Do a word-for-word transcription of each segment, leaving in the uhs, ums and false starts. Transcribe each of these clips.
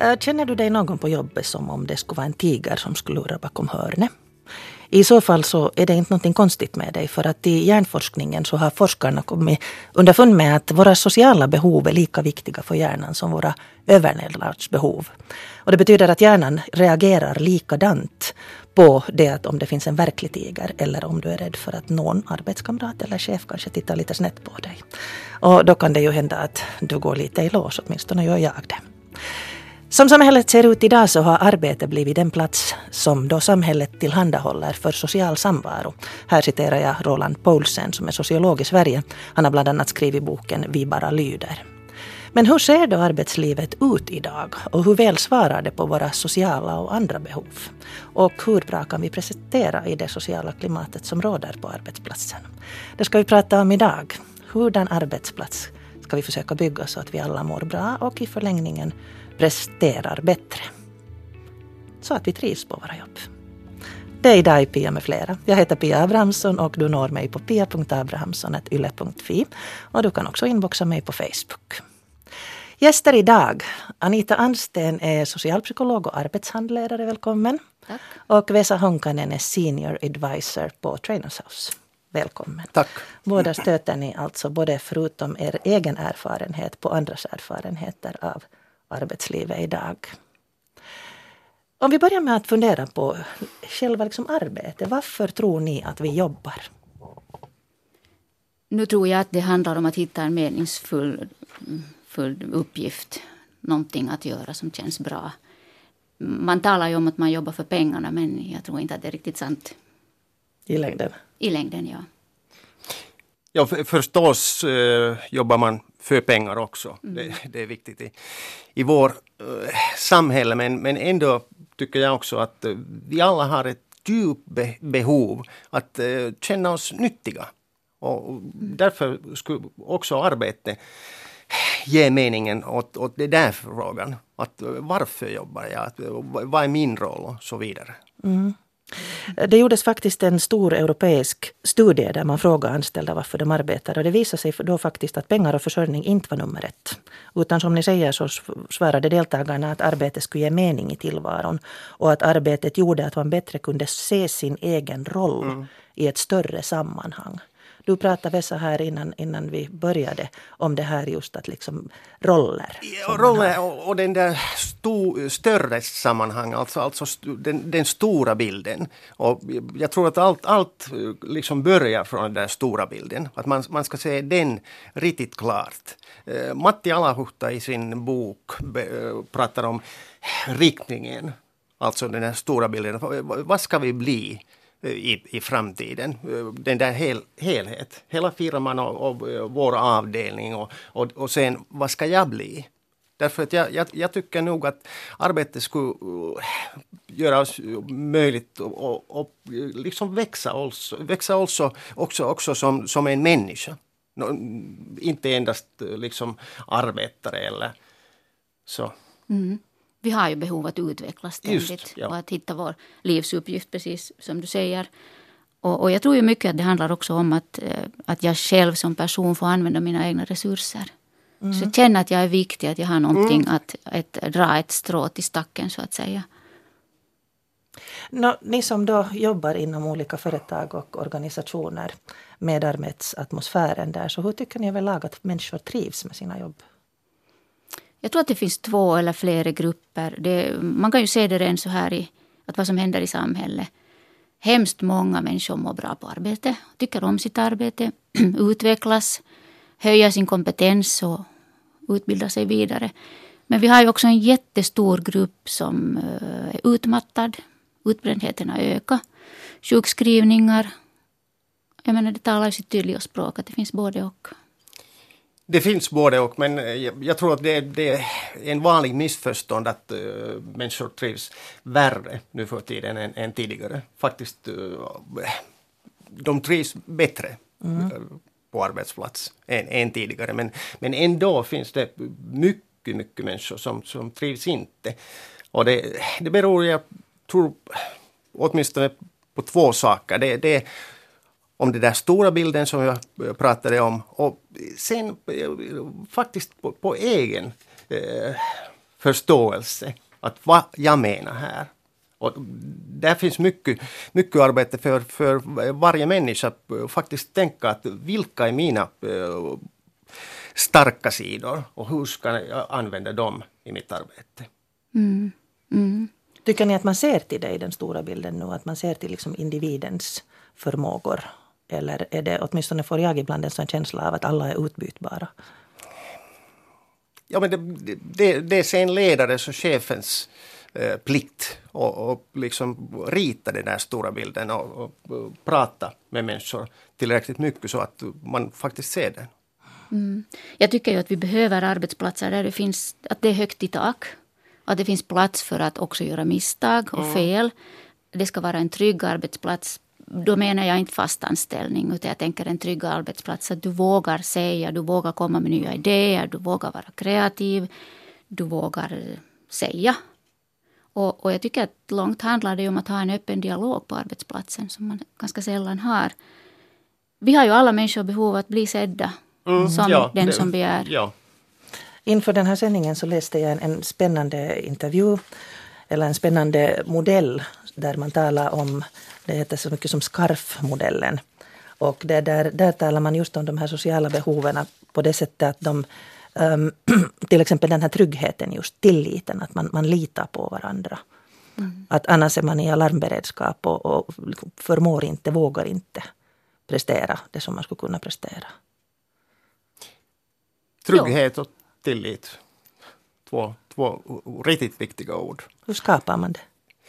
Känner du dig någon på jobbet som om det skulle vara en tiger som skulle lura bakom hörnet? I så fall så är det inte något konstigt med dig, för att i hjärnforskningen så har forskarna kommit underfund med att våra sociala behov är lika viktiga för hjärnan som våra överlevnadsbehov. Och det betyder att hjärnan reagerar likadant på det att om det finns en verklig tiger eller om du är rädd för att någon arbetskamrat eller chef kanske tittar lite snett på dig. Och då kan det ju hända att du går lite i lås, åtminstone gör jag det. Som samhället ser ut idag så har arbete blivit den plats som då samhället tillhandahåller för social samvaro. Här citerar jag Roland Poulsen som är sociolog i Sverige. Han har bland annat skrivit boken Vi bara lyder. Men hur ser då arbetslivet ut idag och hur väl svarar det på våra sociala och andra behov? Och hur bra kan vi prestera i det sociala klimatet som råder på arbetsplatsen? Det ska vi prata om idag. Hurdan arbetsplats ska vi försöka bygga så att vi alla mår bra och i förlängningen presterar bättre, så att vi trivs på våra jobb. Det är idag i Pia med flera. Jag heter Pia Abrahamsson och du når mig på pia punkt abrahamsson snabel-a yle punkt fi och du kan också inboxa mig på Facebook. Gäster idag, Anita Ansten är socialpsykolog och arbetshandledare, välkommen. Tack. Och Vesa Honkanen är senior advisor på Trainers House. Välkommen. Tack. Båda stöter ni alltså både förutom er egen erfarenhet på andras erfarenheter av arbetslivet idag. Om vi börjar med att fundera på själva liksom arbete. Varför tror ni att vi jobbar? Nu tror jag att det handlar om att hitta en meningsfull full uppgift. Någonting att göra som känns bra. Man talar ju om att man jobbar för pengarna, men jag tror inte att det är riktigt sant. I längden? I längden, ja. Ja, för, förstås eh, jobbar man för pengar också. Mm. Det, det är viktigt i, i vår eh, samhälle. Men, men ändå tycker jag också att eh, vi alla har ett djupt be, behov att eh, känna oss nyttiga. Och, och därför skulle också arbete ge meningen åt, åt det där frågan. Att, varför jobbar jag? Att, vad är min roll? Och så vidare. Mm. Det gjordes faktiskt en stor europeisk studie där man frågade anställda varför de arbetar. Och det visade sig då faktiskt att pengar och försörjning inte var nummer ett. Utan som ni säger så svarade deltagarna att arbetet skulle ge mening i tillvaron. Och att arbetet gjorde att man bättre kunde se sin egen roll mm. i ett större sammanhang. Du pratade Vesa här innan, innan vi började om det här just att liksom roller. Ja, roller och, och den där sto, större sammanhang, alltså, alltså den, den stora bilden. Och jag tror att allt, allt liksom börjar från den där stora bilden. Att man, man ska se den riktigt klart. Uh, Matti Alahuhta i sin bok be, uh, pratar om riktningen, alltså den där stora bilden. Vad ska vi bli I, i framtiden. Den där hel, helhet. Hela firman och, och vår avdelning och, och, och sen vad ska jag bli? Därför att jag, jag, jag tycker nog att arbetet skulle göra oss möjligt och, och liksom växa också, växa också, också, också som, som en människa. Inte endast liksom arbetare eller så. Mm. Vi har ju behov att utvecklas ständigt. Just, ja. Och att hitta vår livsuppgift, precis som du säger. Och, och jag tror ju mycket att det handlar också om att, att jag själv som person får använda mina egna resurser. Mm. Så jag känner att jag är viktig, att jag har någonting mm. att, att dra ett strå till stacken så att säga. Nå, ni som då jobbar inom olika företag och organisationer med arbetsatmosfären där. Så hur tycker ni överlag att människor trivs med sina jobb? Jag tror att det finns två eller flera grupper. Det, man kan ju se det redan så här i att vad som händer i samhället. Hemskt många människor mår bra på arbete, tycker om sitt arbete, utvecklas, höjer sin kompetens och utbildar sig vidare. Men vi har ju också en jättestor grupp som är utmattad. Utbrändheten har ökat. Sjukskrivningar. Jag menar, det talar ju sitt tydliga språk att det finns både och. Det finns både och, men jag, jag tror att det, det är en vanlig missförstånd att uh, människor trivs värre nu för tiden än, än tidigare. Faktiskt, uh, de trivs bättre mm. uh, på arbetsplats än, än tidigare. Men, men ändå finns det mycket, mycket människor som, som trivs inte. Och det, det beror, jag tror, åtminstone på två saker. Det, det om den där stora bilden som jag pratade om och sen faktiskt på, på egen eh, förståelse. Att vad jag menar här. Och där finns mycket, mycket arbete för, för varje människa att faktiskt tänka att vilka är mina uh, starka sidor och hur ska jag använda dem i mitt arbete. Mm. Mm. Tycker ni att man ser till det i den stora bilden nu? Att man ser till liksom individens förmågor? Eller är det, åtminstone får jag ibland en sån känsla av att alla är utbytbara? Ja, men det, det, det är sen ledares och chefens eh, plikt och, och liksom rita den där stora bilden och, och, och prata med människor tillräckligt mycket så att man faktiskt ser den. Mm. Jag tycker ju att vi behöver arbetsplatser där det finns, att det är högt i tak. Att det finns plats för att också göra misstag och fel. Det ska vara en trygg arbetsplats. Då menar jag inte fast anställning, utan jag tänker en trygg arbetsplats. Att du vågar säga, du vågar komma med nya idéer, du vågar vara kreativ, du vågar säga. Och, och jag tycker att långt handlar det om att ha en öppen dialog på arbetsplatsen som man ganska sällan har. Vi har ju alla människor behov av att bli sedda mm, som ja, den det, som begär. Ja. Inför den här sändningen så läste jag en, en spännande intervju eller en spännande modell där man talar om, det heter så mycket som SCARF-modellen. Och det där, där talar man just om de här sociala behoven på det sättet att de, um, till exempel den här tryggheten, just tilliten, att man, man litar på varandra. Mm. Att annars är man i alarmberedskap och, och förmår inte, vågar inte prestera det som man skulle kunna prestera. Trygghet och tillit. Två, två riktigt viktiga ord. Hur skapar man det?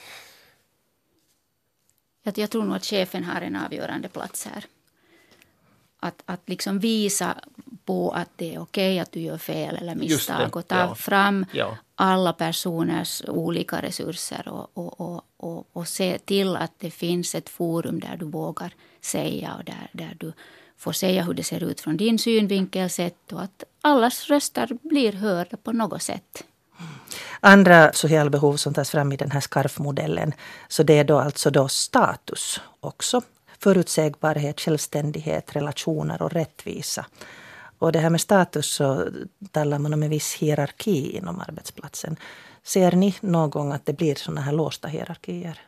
Jag, jag tror nog att chefen har en avgörande plats här. Att, att liksom visa på att det är okej att du gör fel eller misstag. Och ta ja. fram ja. alla personers olika resurser. Och, och, och, och, och se till att det finns ett forum där du vågar säga. Och där, där du får säga hur det ser ut från din synvinkel sett. Och att allas röster blir hörda på något sätt. Andra sociala behov som tas fram i den här SCARF-modellen, så det är då alltså då status också. Förutsägbarhet, självständighet, relationer och rättvisa. Och det här med status så talar man om en viss hierarki inom arbetsplatsen. Ser ni någon gång att det blir såna här låsta hierarkier?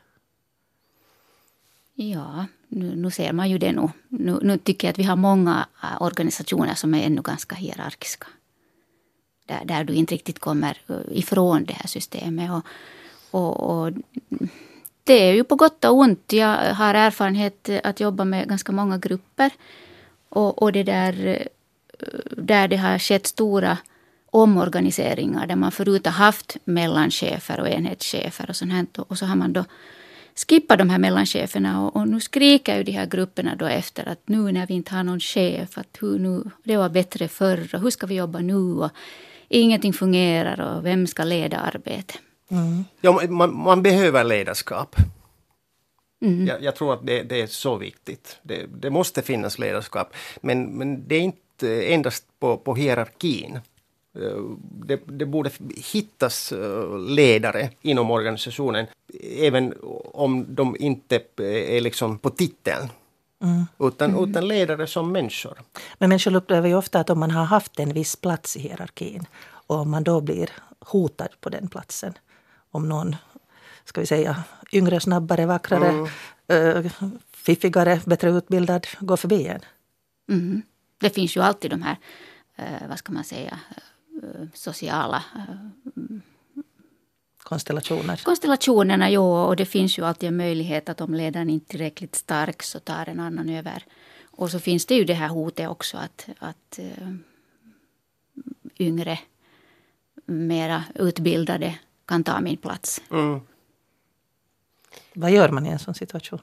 Ja, nu, nu ser man ju det nu. nu. Nu tycker jag att vi har många organisationer som är ännu ganska hierarkiska. Där, där du inte riktigt kommer ifrån det här systemet. Och, och, och det är ju på gott och ont. Jag har erfarenhet att jobba med ganska många grupper. Och, och det där, där det har skett stora omorganiseringar. Där man förut har haft mellanchefer och enhetschefer och sånt här. Och så har man då skippat de här mellancheferna. Och, och nu skriker ju de här grupperna då efter att nu när vi inte har någon chef. Att hur nu, det var bättre förr och hur ska vi jobba nu och ingenting fungerar och vem ska leda arbetet? Mm. Ja, man, man behöver ledarskap. Mm. Jag, jag tror att det, det är så viktigt. Det, det måste finnas ledarskap. Men, men det är inte endast på, på hierarkin. Det, det borde hittas ledare inom organisationen. Även om de inte är liksom på titeln. Mm. Utan, mm. utan ledare som människor. Men människor upplever ju ofta att om man har haft en viss plats i hierarkin och om man då blir hotad på den platsen, om någon, ska vi säga, yngre, snabbare, vackrare, mm. äh, fiffigare, bättre utbildad går förbi en. Mm. Det finns ju alltid de här, äh, vad ska man säga, äh, sociala äh, konstellationer. Konstellationerna, ja, och det finns ju alltid en möjlighet att om ledaren inte är tillräckligt stark så tar en annan över. Och så finns det ju det här hotet också att, att uh, yngre, mera utbildade kan ta min plats. Mm. Vad gör man i en sån situation?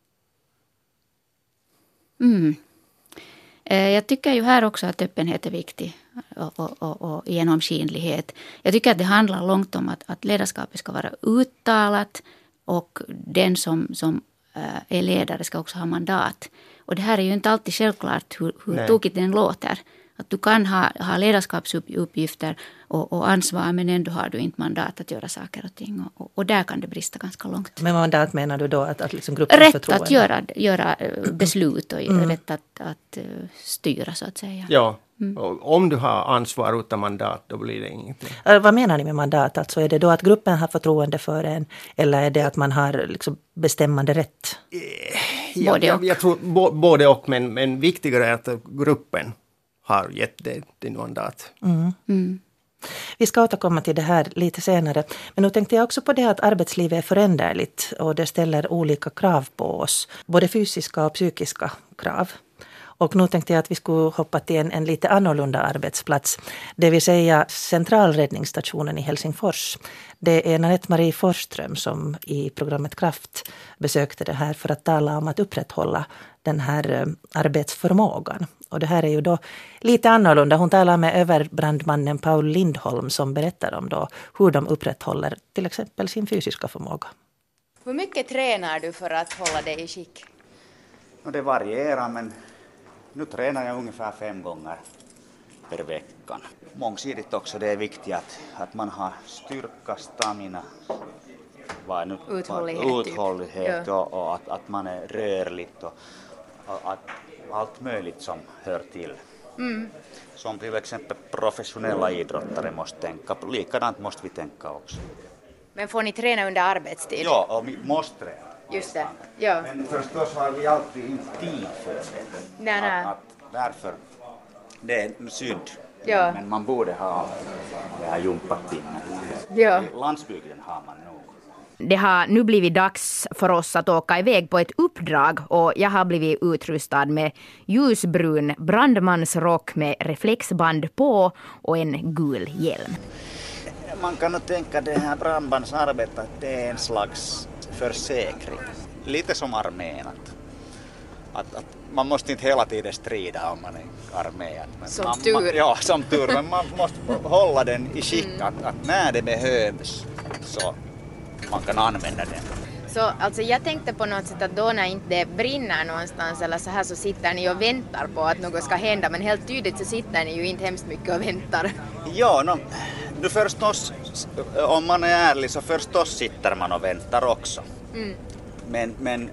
Mm. Jag tycker ju här också att öppenhet är viktig och, och, och, och genomskinlighet. Jag tycker att det handlar långt om att, att ledarskapet ska vara uttalat och den som, som är ledare ska också ha mandat. Och det här är ju inte alltid självklart hur, hur tokigt den låter. Att du kan ha, ha ledarskapsuppgifter och, och ansvar men ändå har du inte mandat att göra saker och ting. Och, och där kan det brista ganska långt. Men mandat menar du då att, att liksom gruppens rätt förtroende? Rätt att göra, göra beslut och mm. rätt att, att styra så att säga. Ja, Mm. Och om du har ansvar utan mandat, då blir det ingenting. Vad menar ni med mandat? Alltså är det då att gruppen har förtroende för en, eller är det att man har liksom bestämmande rätt? Ja, både jag, jag tror både och, men, men viktigare är att gruppen har gett det din mandat. Mm. Mm. Vi ska återkomma till det här lite senare. Men nu tänkte jag också på det att arbetslivet är föränderligt och det ställer olika krav på oss. Både fysiska och psykiska krav. Och nu tänkte jag att vi skulle hoppa till en, en lite annorlunda arbetsplats. Det vill säga centralräddningsstationen i Helsingfors. Det är Nanette-Marie Forsström som i programmet Kraft besökte det här för att tala om att upprätthålla den här arbetsförmågan. Och det här är ju då lite annorlunda. Hon talar med överbrandmannen Paul Lindholm som berättar om då hur de upprätthåller till exempel sin fysiska förmåga. Hur mycket tränar du för att hålla dig i skick? Det varierar, men nu tränar jag ungefär fem gånger per vecka. Mångsidigt också, det är viktigt att, att man har styrka, stamina, vad nu, uthållighet, uthållighet typ. och, och att, att man är rörlig och, och att allt möjligt som hör till. Mm. Som till exempel professionella idrottare måste tänka på, likadant måste vi tänka också. Men får ni träna under arbetstid? Ja, och vi måste träna. Just det, ja. Men förstås har vi alltid inte tid för det. Nej, nej. Att, att därför, det är synd. Ja. Men man borde ha det här jumpatimmar. Ja. Landsbygden har man nog. Det har nu blivit dags för oss att åka iväg på ett uppdrag och jag har blivit utrustad med ljusbrun brandmansrock med reflexband på och en gul hjälm. Man kan nog tänka det här brandbandsarbetet att det är en slags försäkring. Lite som armén. Att, att, att man måste inte hela tiden strida om man är armén. Som man, tur. Man, ja, som tur. Men man måste hålla den i skick mm. att, att när det behövs så man kan använda den. Så alltså jag tänkte på något sätt att då när inte det brinner någonstans eller så här så sitter ni och väntar på att något ska hända. Men helt tydligt så sitter ni ju inte hemskt mycket och väntar. Ja, no, nu förstås, om man är ärlig så förstås sitter man och väntar också. Mm. Men, men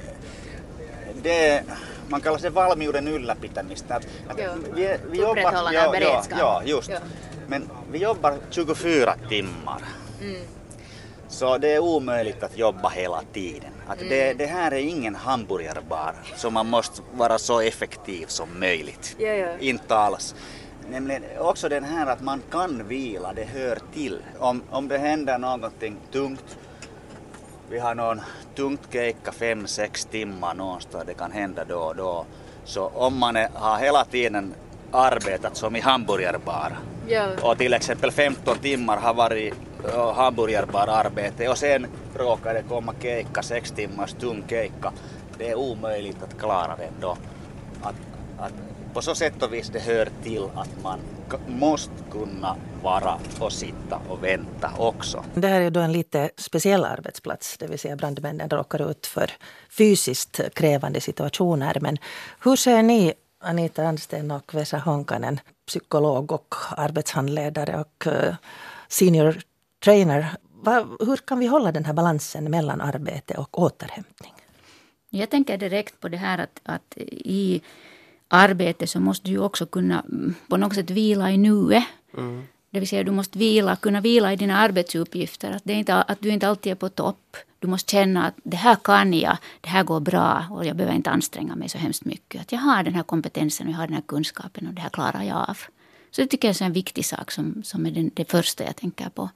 det, man kallar det valmiuden ylläpitämistä. Att, att vi, vi jobbar, ja, beredskap. Ja, just. Ja. Men vi jobbar tjugofyra timmar. Mm. Så det är omöjligt att jobba hela tiden. Att mm. det, det här är ingen hamburgerbar, så man måste vara så effektiv som möjligt. Ja, ja. Inte alls. Nämligen också den här att man kan vila, det hör till. Om, om det händer någonting tungt, vi har någon tungt keikka fem, sex timmar någonstans, det kan hända då och då. Så om man är, har hela tiden arbetat som i hamburgerbar ja. och till exempel femton timmar har varit uh, hamburgerbar arbete och sen råkar det komma keikka, sex timmars tung keikka, det är omöjligt att klara det då. Att, att på så sätt och vis det hör till att man måste kunna vara och sitta och vänta också. Det här är då en lite speciell arbetsplats, det vill säga brandmännen råkar ut för fysiskt krävande situationer. Men hur ser ni, Anita Ansten och Vesa Honkanen, psykolog och arbetshandledare och senior trainer, hur kan vi hålla den här balansen mellan arbete och återhämtning? Jag tänker direkt på det här att, att i arbete så måste du ju också kunna på något sätt vila i nuet. Mm. Det vill säga du måste vila, kunna vila i dina arbetsuppgifter. Att, det är inte, att du inte alltid är på topp. Du måste känna att det här kan jag, det här går bra och jag behöver inte anstränga mig så hemskt mycket. Att jag har den här kompetensen och jag har den här kunskapen och det här klarar jag av. Så det tycker jag är en viktig sak som, som är den, det första jag tänker på.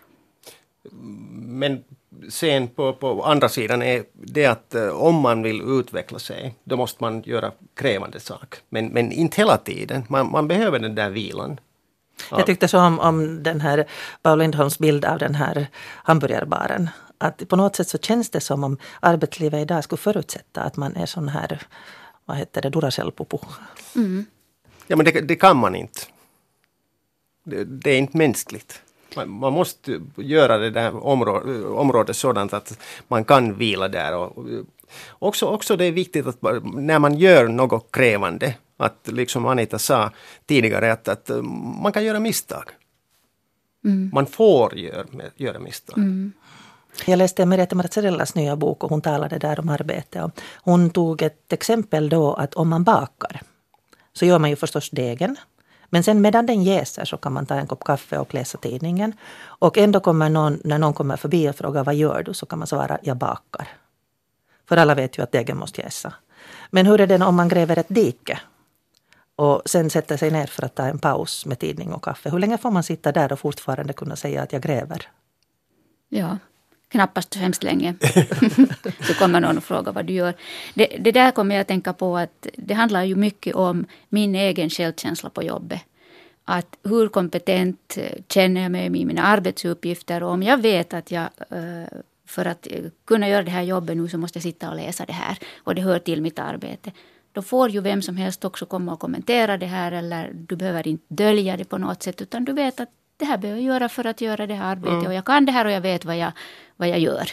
Men sen på, på andra sidan är det att uh, om man vill utveckla sig, då måste man göra krävande sak. Men, men inte hela tiden. Man, man behöver den där vilan. Ja. Jag tyckte så om, om den här Paul Lindholms bild av den här hamburgerbaren. Att på något sätt så känns det som om arbetslivet idag skulle förutsätta att man är sån här, vad heter det, Duracell-popo. Mm. Ja, men det, det kan man inte. Det, det är inte mänskligt. Man, man måste göra det där området, området sådant att man kan vila där. Och, också, också det är viktigt att när man gör något krävande, att liksom Anita sa tidigare, att, att man kan göra misstag. Mm. Man får göra, göra misstag. Mm. Jag läste Merete Marzarellas nya bok och hon talade där om arbete. Och hon tog ett exempel då att om man bakar så gör man ju förstås degen. Men sen medan den jäser så kan man ta en kopp kaffe och läsa tidningen. Och ändå kommer någon, när någon kommer förbi och frågar vad gör du, så kan man svara jag bakar. För alla vet ju att degen måste jäsa. Men hur är det om man gräver ett dike och sen sätter sig ner för att ta en paus med tidning och kaffe? Hur länge får man sitta där och fortfarande kunna säga att jag gräver? Ja, knappast så hemskt länge. Så kommer någon och frågar vad du gör. Det, det där kommer jag att tänka på att det handlar ju mycket om min egen självkänsla på jobbet. Att hur kompetent känner jag mig med mina arbetsuppgifter, och om jag vet att jag för att kunna göra det här jobbet nu så måste jag sitta och läsa det här och det hör till mitt arbete. Då får ju vem som helst också komma och kommentera det här, eller du behöver inte dölja det på något sätt, utan du vet att det här behöver jag göra för att göra det här arbetet mm. och jag kan det här och jag vet vad jag, vad jag gör.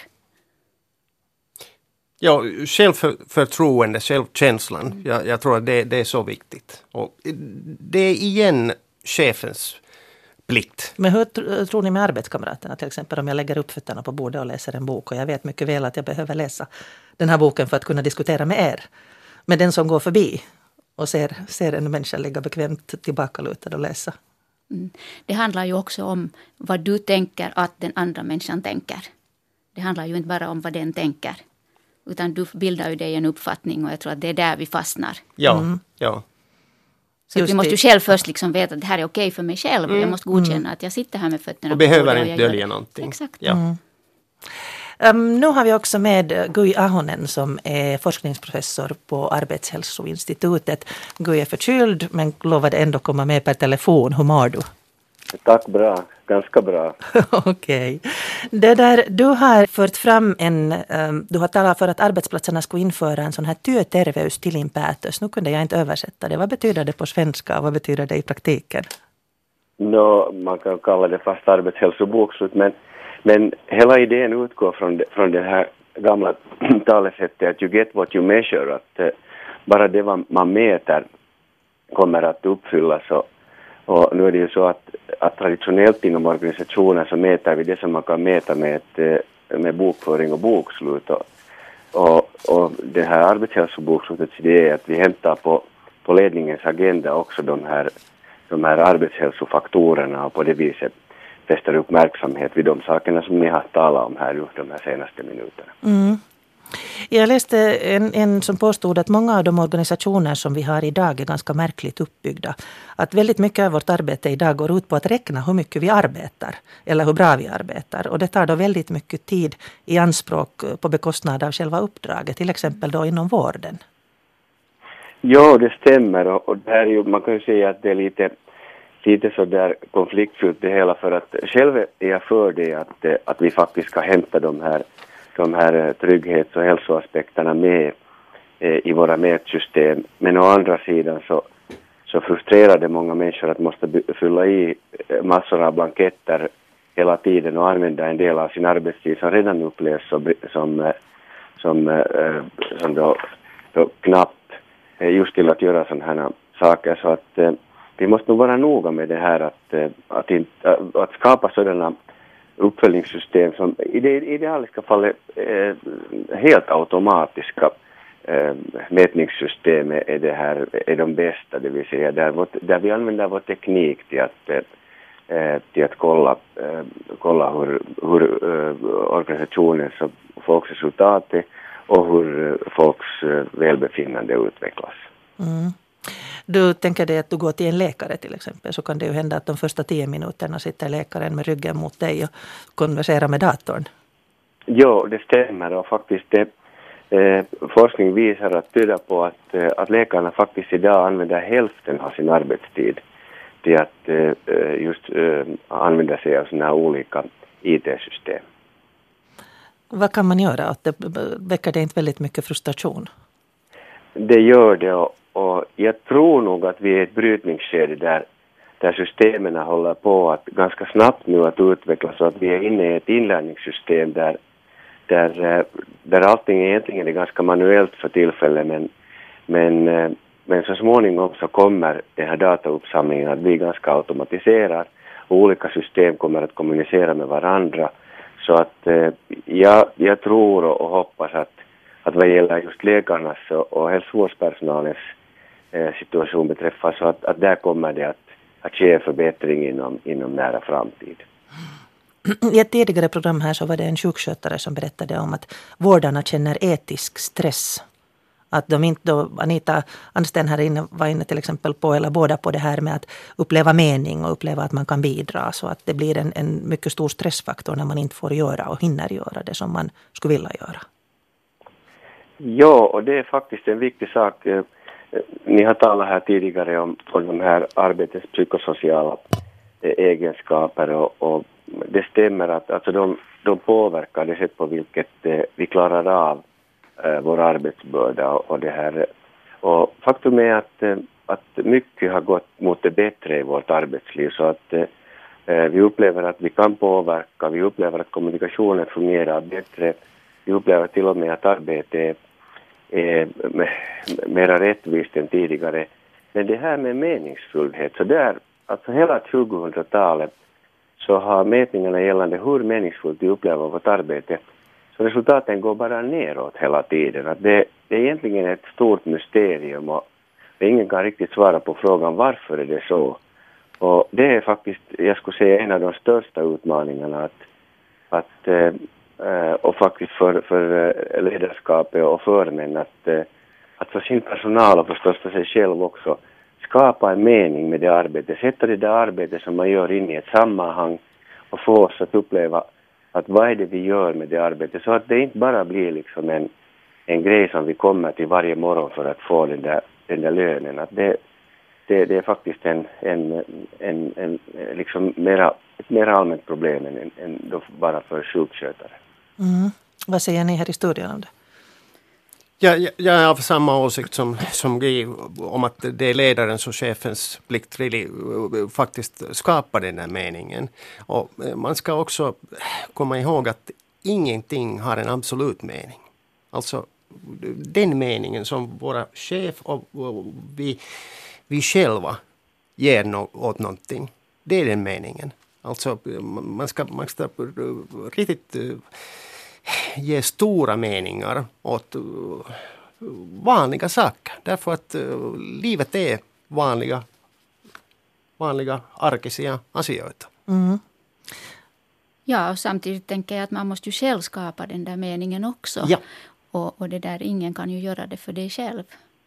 Ja, självförtroende, självkänslan. Mm. Jag, jag tror att det, det är så viktigt. Och det är igen chefens plikt. Men hur tror ni med arbetskamraterna? Till exempel om jag lägger upp fötterna på bordet och läser en bok och jag vet mycket väl att jag behöver läsa den här boken för att kunna diskutera med er. Men den som går förbi och ser, ser en människa ligga bekvämt tillbakalutad och läsa. Mm. Det handlar ju också om vad du tänker att den andra människan tänker. Det handlar ju inte bara om vad den tänker. Utan du bildar ju dig en uppfattning, och jag tror att det är där vi fastnar. Ja, mm. ja. Så vi måste ju själv först liksom veta att det här är okej för mig själv. Mm. Jag måste godkänna mm. att jag sitter här med fötterna och behöver och inte dölja någonting. Exakt. Ja. Mm. Um, nu har vi också med Guy Ahonen som är forskningsprofessor på Arbetshälsoinstitutet. Guy är förkyld men lovade ändå komma med per telefon. Hur mår du? Tack, bra. Ganska bra. Okej. Okay. Det där, du har fört fram en, um, du har talat för att arbetsplatserna skulle införa en sån här työterveys tilinpäätös. Nu kunde jag inte översätta det. Vad betyder det på svenska och vad betyder det i praktiken? No, man kan kalla det fast arbetshälsobokslut, men, men hela idén utgår från det, från det här gamla talesättet att you get what you measure, att uh, bara det man mäter kommer att uppfyllas. Och, och nu är det ju så att, att traditionellt inom organisationer så mäter vi det som man kan mäta med, ett, med bokföring och bokslut. Och, och, och det här arbetshälsobokslutet idé är att vi hämtar på, på ledningens agenda också de här, de här arbetshälsofaktorerna och på det viset fäster uppmärksamhet vid de sakerna som ni har talat om här de här senaste minuterna. Mm. Jag läste en, en som påstod att många av de organisationer som vi har idag är ganska märkligt uppbyggda. Att väldigt mycket av vårt arbete idag går ut på att räkna hur mycket vi arbetar eller hur bra vi arbetar. Och det tar då väldigt mycket tid i anspråk på bekostnad av själva uppdraget, till exempel då inom vården. Ja, det stämmer, och det här är ju, man kan ju säga att det är lite, lite så där konfliktfyllt det hela, för att själv är jag för det att, att vi faktiskt ska hämta de här de här trygghets- och hälsoaspekterna med eh, i våra mätsystem. Men å andra sidan så, så frustrerar det många människor att måste by- fylla i massor av blanketter hela tiden och använda en del av sin arbetstid som redan upplevs som, som, som, eh, som då, då knappt eh, just till att göra sådana här saker. Så att eh, vi måste nog vara noga med det här att, eh, att, in, att, att skapa sådana uppföljningssystem som i det idealiska fallet eh, helt automatiska eh, mätningssystem är, det här, är de bästa, det vill säga där, vårt, där vi använder vår teknik till att, eh, till att kolla, eh, kolla hur, hur eh, organisationens och folks resultat är och hur folks eh, välbefinnande utvecklas. Mm. Du tänker dig att du går till en läkare till exempel, så kan det ju hända att de första tio minuterna sitter läkaren med ryggen mot dig och konverserar med datorn. Ja, det stämmer, och faktiskt det, eh, forskning visar att tyda på att, eh, att läkarna faktiskt idag använder hälften av sin arbetstid till att eh, just eh, använda sig av sådana här olika I T-system. Vad kan man göra? Att det väcker det inte väldigt mycket frustration? Det gör det, och Och jag tror nog att vi är i ett brytningsskede där, där systemen håller på att ganska snabbt nu att utvecklas, så att vi är inne i ett inlärningssystem där, där, där allting egentligen är ganska manuellt för tillfället, men, men, men så småningom så kommer den här datauppsamlingen att bli ganska automatiserad och olika system kommer att kommunicera med varandra. Så att jag, jag tror och hoppas att, att vad gäller just läkarnas och hälsovårdspersonalens situation beträffar, så att, att där kommer det att, att ske förbättring inom, inom nära framtid. I ett tidigare program här så var det en sjukskötare som berättade om att vårdarna känner etisk stress. Att de inte då, Anita Ansten här inne var inne till exempel på, eller båda på det här med att uppleva mening och uppleva att man kan bidra. Så att det blir en, en mycket stor stressfaktor när man inte får göra och hinner göra det som man skulle vilja göra. Ja, och det är faktiskt en viktig sak. Ni har talat här tidigare om, om de här arbetets psykosociala egenskaper och, och det stämmer att alltså de, de påverkar det sätt på vilket eh, vi klarar av eh, vår arbetsbörda och, och det här. Och faktum är att, eh, att mycket har gått mot det bättre i vårt arbetsliv så att eh, vi upplever att vi kan påverka, vi upplever att kommunikationen fungerar bättre, vi upplever till och med att arbetet är, är mer rättvist än tidigare. Men det här med meningsfullhet, så där, alltså hela tjugohundratalet så har mätningarna gällande hur meningsfullt vi upplever vårt arbete, så resultaten går bara neråt hela tiden. Att det, det är egentligen ett stort mysterium och ingen kan riktigt svara på frågan varför är det så. Och det är faktiskt, jag skulle säga, en av de största utmaningarna att, att äh, och faktiskt för, för ledarskapet och för män att, äh, att för sin personal och förstås för sig själv också skapa en mening med det arbetet, sätta det där arbetet som man gör in i ett sammanhang och få oss att uppleva att vad är det vi gör med det arbetet så att det inte bara blir liksom en, en grej som vi kommer till varje morgon för att få den där, den där lönen. Att det, det, det är faktiskt en, en, en, en liksom mera, ett mer allmänt problem än, än då bara för sjukskötare. Mm. Vad säger ni här i studion om det? Ja, jag, jag är av samma åsikt som, som Guy om att det är ledarens och chefens plikt really, faktiskt skapa den här meningen. Och man ska också komma ihåg att ingenting har en absolut mening. Alltså den meningen som våra chef och, och vi, vi själva ger no, åt någonting, det är den meningen. Alltså man ska, man ska riktigt ge stora meningar åt uh, vanliga saker. Därför att uh, livet är vanliga, vanliga arkisia asioita. Mm. Ja, och samtidigt tänker jag att man måste ju själv skapa den där meningen också. Ja. Och, och det där, ingen kan ju göra det för dig själv.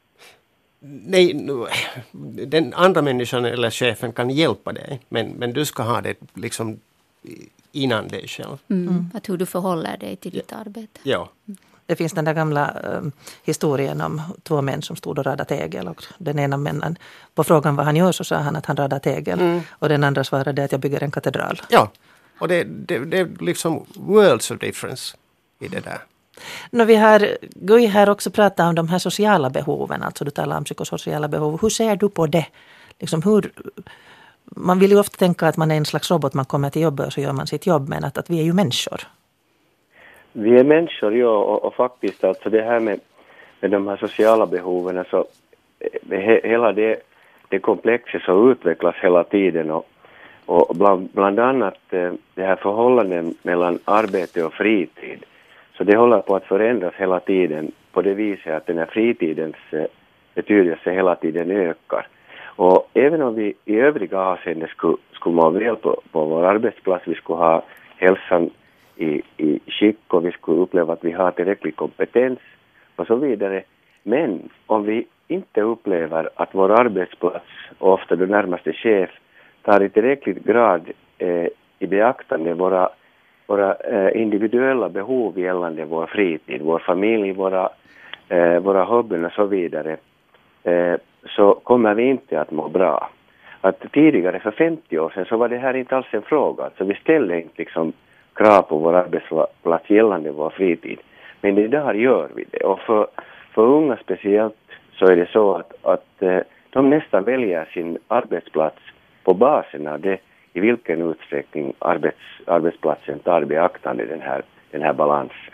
Nej, den andra människan eller chefen kan hjälpa dig. Men, men du ska ha det liksom innan dig själv. Mm. Mm. Att hur du förhåller dig till ditt arbete. Ja. Det finns den där gamla um, historien om två män som stod och radade tegel. Och den ena männen, på frågan vad han gör så sa han att han radar tegel. Mm. Och den andra svarade att jag bygger en katedral. Ja, och det, det, det är liksom worlds of difference i det där. No, vi har Guy här också pratat om de här sociala behoven. Alltså du talar om psykosociala behov. Hur ser du på det? Liksom hur... Man vill ju ofta tänka att man är en slags robot, man kommer till jobbet och så gör man sitt jobb, men att, att vi är ju människor. Vi är människor, ja, och, och faktiskt alltså det här med, med de här sociala behoven, alltså, he, hela det, det komplexet så utvecklas hela tiden och, och bland, bland annat det här förhållandet mellan arbete och fritid, så det håller på att förändras hela tiden på det viset att den här fritidens betydelse hela tiden ökar. Och även om vi i övriga avseenden skulle, skulle må väl på, på vår arbetsplats, vi skulle ha hälsan i, i skick och vi skulle uppleva att vi har tillräcklig kompetens och så vidare. Men om vi inte upplever att vår arbetsplats och ofta den närmaste chef tar i tillräcklig grad eh, i beaktande våra, våra eh, individuella behov gällande vår fritid, vår familj, våra, eh, våra hobbyn och så vidare, eh, så kommer vi inte att må bra. Att tidigare för femtio år sedan så var det här inte alls en fråga. Så vi ställde inte liksom krav på vår arbetsplats gällande vår fritid. Men idag gör vi det. Och för, för unga speciellt så är det så att, att de nästan väljer sin arbetsplats på basen av det i vilken utsträckning arbets, arbetsplatsen tar beaktande den här, den här balansen.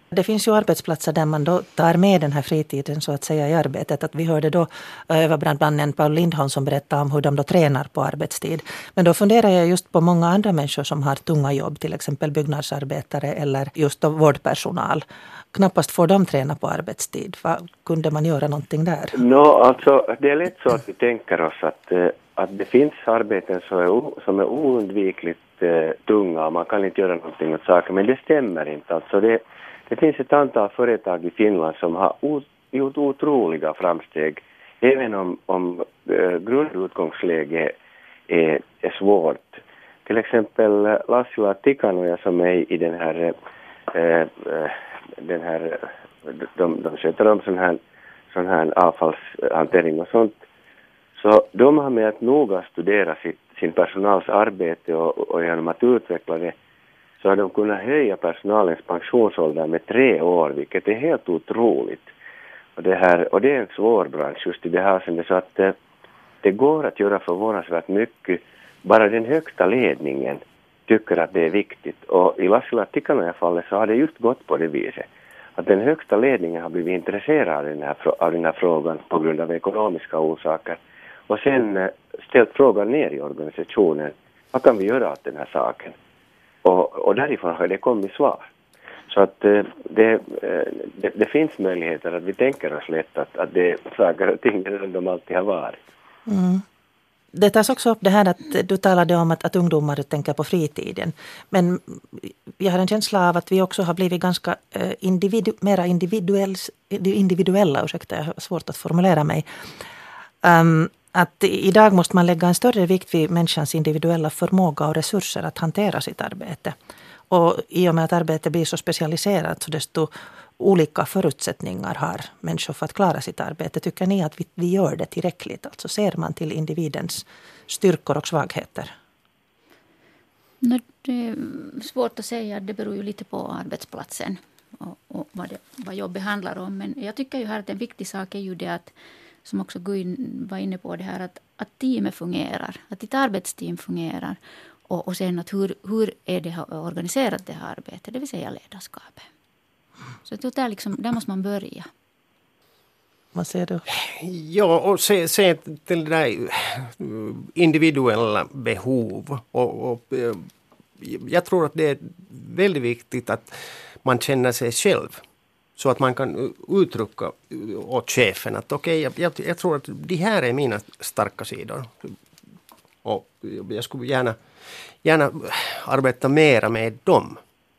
Det finns ju arbetsplatser där man då tar med den här fritiden så att säga i arbetet. Att vi hörde då överbrandmannen Paul Lindholm som berättade om hur de då tränar på arbetstid. Men då funderar jag just på många andra människor som har tunga jobb, till exempel byggnadsarbetare eller just då vårdpersonal. Knappast får de träna på arbetstid. Vad kunde man göra någonting där? No, alltså, det är lätt så att vi tänker oss att, att det finns arbeten som är, som är oundvikligt eh, tunga och man kan inte göra någonting åt saker. Men det stämmer inte. Alltså det, det finns ett antal företag i Finland som har o, gjort otroliga framsteg. Även om, om eh, grundutgångsläget är, är svårt. Till exempel Lassila Tikanoja som är i den här... Eh, eh, den här de, de sköter om sån här, sån här avfallshantering och sånt. Så de har med att noga studera sitt, sin personals arbete och, och genom att utveckla det så har de kunnat höja personalens pensionsålder med tre år, vilket är helt otroligt. Och det, här, och det är en svår bransch just i det här sen så att det, det går att göra förvånansvärt mycket. Bara den högsta ledningen tycker att det är viktigt. Och i Lassila Tikanoja-fallet så har det just gått på det viset. Att den högsta ledningen har blivit intresserad av den här, av den här frågan på grund av ekonomiska orsaker. Och sen ställt frågan ner i organisationen. Vad kan vi göra åt den här saken? Och, och därifrån har det kommit svar. Så att det, det, det finns möjligheter att vi tänker oss lätt att, att det är saker och ting som de alltid har varit. Mm. Det tas också upp det här att du talade om att, att ungdomar tänker på fritiden. Men jag har en känsla av att vi också har blivit ganska individu, mera individuells, individuella. Ursäkta, jag har svårt att formulera mig. Um, att idag måste man lägga en större vikt vid människans individuella förmåga och resurser att hantera sitt arbete. Och i och med att arbetet blir så specialiserat så desto olika förutsättningar har människor för att klara sitt arbete. Tycker ni att vi, vi gör det tillräckligt? Alltså ser man till individens styrkor och svagheter? No, det är svårt att säga. Det beror ju lite på arbetsplatsen och, och vad, det, vad jobbet handlar om. Men jag tycker ju här att en viktig sak är ju det att, som också Guin var inne på det här, att, att teamet fungerar. Att ett arbetsteam fungerar. Och, och sen att hur, hur är det organiserat det här arbetet, det vill säga ledarskapet. Så det där, liksom, där måste man börja. Vad säger du? Ja, och se, se till det där individuella behov. Och, och, jag tror att det är väldigt viktigt att man känner sig själv. Så att man kan uttrycka åt chefen att okej, okay, jag, jag tror att det här är mina starka sidor. Och jag skulle gärna, gärna arbeta mera med dem.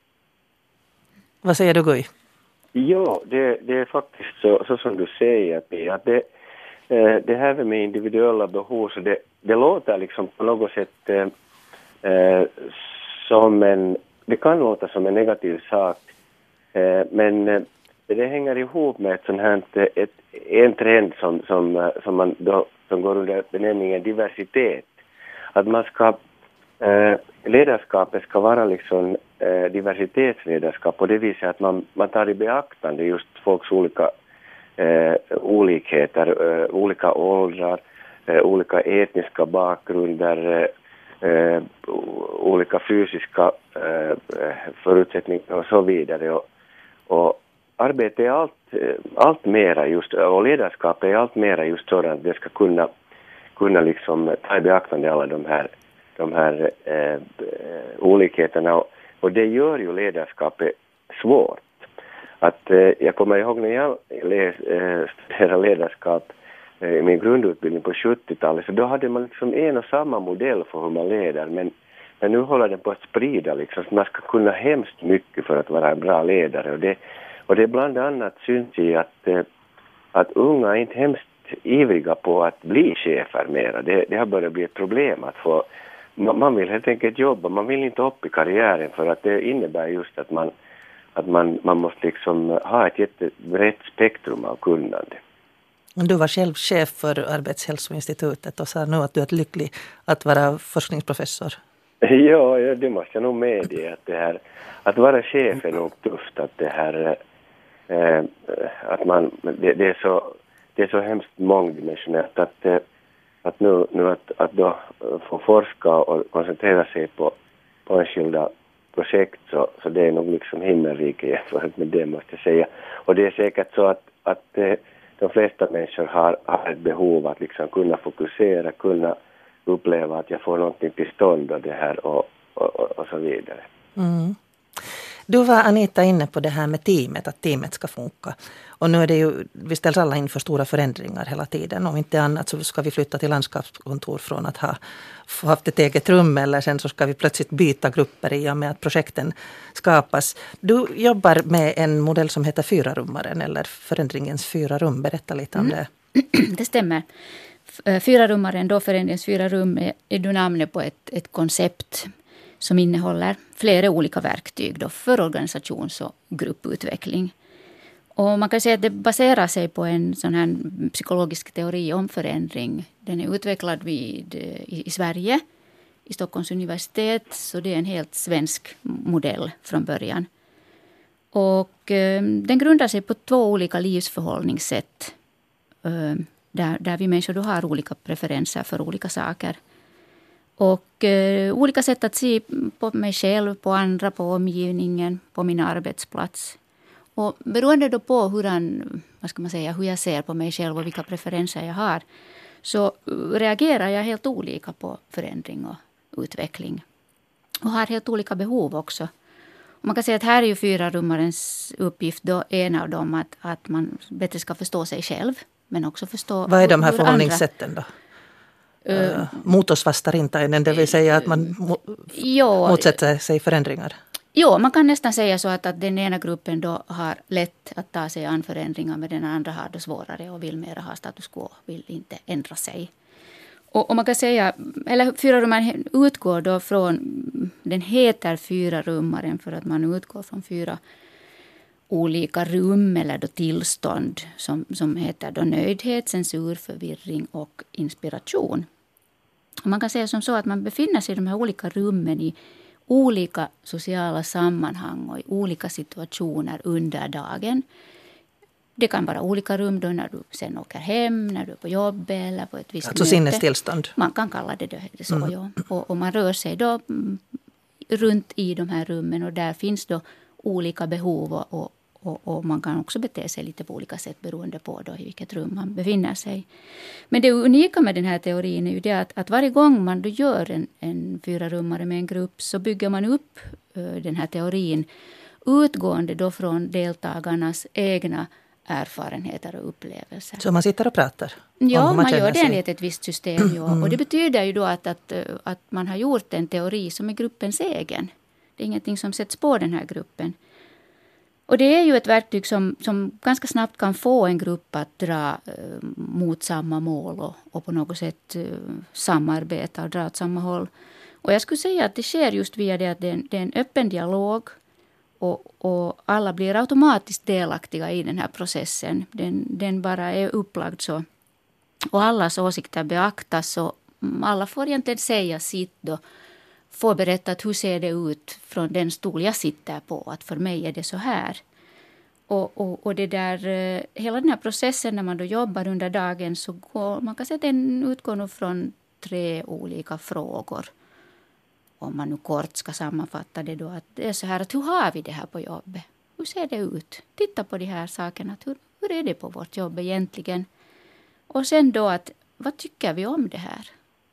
Vad säger du, Guy? Ja, det, det är faktiskt så, så som du säger, Pia. Att det, det här med individuella behov, så det, det låter liksom på något sätt eh, som en... Det kan låta som en negativ sak, eh, men eh, det hänger ihop med ett sånt här, ett, en trend som, som, som, man då, som går under benämningen diversitet. Att man ska... Eh, ledarskapet ska vara liksom eh, diversitetsledarskap på det viset att man, man tar i beaktande just folks olika eh, olikheter, eh, olika åldrar, eh, olika etniska bakgrunder, eh, olika fysiska eh, förutsättningar och så vidare. Och, och arbetet är allt, allt mera just, och ledarskapet är allt mera just sådant att det ska kunna, kunna liksom ta i beaktande alla de här de här eh, olikheterna och, och det gör ju ledarskapet svårt. Att eh, jag kommer ihåg när jag läs, eh, studerade ledarskap eh, i min grundutbildning på sjuttiotalet, så då hade man liksom en och samma modell för hur man leder, men, men nu håller den på att sprida liksom, så man ska kunna hemskt mycket för att vara en bra ledare och det, och det bland annat syns i att, eh, att unga är inte hemskt ivriga på att bli chefer mera. Det, det har börjat bli ett problem att få. Man vill helt enkelt jobba, man vill inte upp i karriären för att det innebär just att man, att man, man måste liksom ha ett jättebrett spektrum av kunnande. Du var själv chef för Arbetshälsoinstitutet och sa nu att du är lycklig att vara forskningsprofessor. Ja, ja, det måste jag nog medge att det här, att vara chef är nog tufft, att det här, eh, att man, det, det är så, det är så hemskt mångdimensionellt att eh, Att nu, nu att, att då få forska och koncentrera sig på, på enskilda projekt så, så det är nog liksom himmelrike jämfört med det måste jag säga. Och det är säkert så att, att eh, de flesta människor har, har ett behov att liksom kunna fokusera, kunna uppleva att jag får någonting till stånd och det här och, och, och, och så vidare. Mm. Du var, Anita, inne på det här med teamet, att teamet ska funka. Och nu är det ju, vi ställs alla inför stora förändringar hela tiden. Om inte annat så ska vi flytta till landskapskontor från att ha haft ett eget rum, eller sen så ska vi plötsligt byta grupper i och med att projekten skapas. Du jobbar med en modell som heter Fyrarummaren, eller förändringens fyra rum. Berätta lite om det. Mm. Det stämmer. Fyrarummaren, då förändringens fyra rum, är, är då namnet på ett, ett koncept som innehåller flera olika verktyg då för organisations- och grupputveckling. Och man kan säga att det baserar sig på en sån här psykologisk teori om förändring. Den är utvecklad vid, i, i Sverige, i Stockholms universitet, så det är en helt svensk modell från början. Och eh, den grundar sig på två olika livsförhållningssätt, eh, där, där vi människor då har olika preferenser för olika saker. Och eh, olika sätt att se på mig själv, på andra, på omgivningen, på min arbetsplats. Och beroende då på hur, han, vad ska man säga, hur jag ser på mig själv och vilka preferenser jag har, så reagerar jag helt olika på förändring och utveckling. Och har helt olika behov också. Och man kan säga att här är ju Fyrarummarens uppgift då, en av dem, att, att man bättre ska förstå sig själv. Men också förstå Vad är de här hur förhållningssätten andra, då? Uh, mot oss vastarintainen, det vill säga att man mo- jo, motsätter sig förändringar. Jo, man kan nästan säga så att, att den ena gruppen då har lätt att ta sig an förändringar, men den andra har det svårare och vill mer ha status quo, vill inte ändra sig. Och, och man kan säga, eller Fyrarummaren utgår då från, den heter Fyrarummaren för att man utgår från fyra olika rum eller då tillstånd som, som heter då nöjdhet, censur, förvirring och inspiration. Och man kan säga som så att man befinner sig i de här olika rummen i olika sociala sammanhang och i olika situationer under dagen. Det kan vara olika rum då när du sen åker hem, när du är på jobb eller på ett visst alltså möte. sinnestillstånd. Man kan kalla det, det så, mm. ja. Och, och man rör sig då runt i de här rummen och där finns då olika behov och, och Och, och man kan också bete sig lite på olika sätt beroende på då i vilket rum man befinner sig. Men det unika med den här teorin är ju det att, att varje gång man då gör en, en fyrarummare med en grupp så bygger man upp uh, den här teorin utgående då från deltagarnas egna erfarenheter och upplevelser. Så man sitter och pratar? Ja, man, man gör det sig. enligt ett visst system. Ja. Mm. Och det betyder ju då att, att, att man har gjort en teori som är gruppens egen. Det är ingenting som sätts på den här gruppen. Och det är ju ett verktyg som, som ganska snabbt kan få en grupp att dra eh, mot samma mål och, och på något sätt eh, samarbeta och dra åt samma håll. Och jag skulle säga att det sker just via det att det är en, det är en öppen dialog och, och alla blir automatiskt delaktiga i den här processen. Den, den bara är upplagd så. Och allas åsikter beaktas och alla får egentligen säga sitt då. Får berätta att hur ser det ut från den stol jag sitter på. Att för mig är det så här. Och, och, och det där, hela den här processen när man då jobbar under dagen så går, man kan säga att den utgår nog från tre olika frågor. Om man nu kort ska sammanfatta det då. Att det är så här att hur har vi det här på jobbet? Hur ser det ut? Titta på de här sakerna. Hur, hur är det på vårt jobb egentligen? Och sen då att vad tycker vi om det här?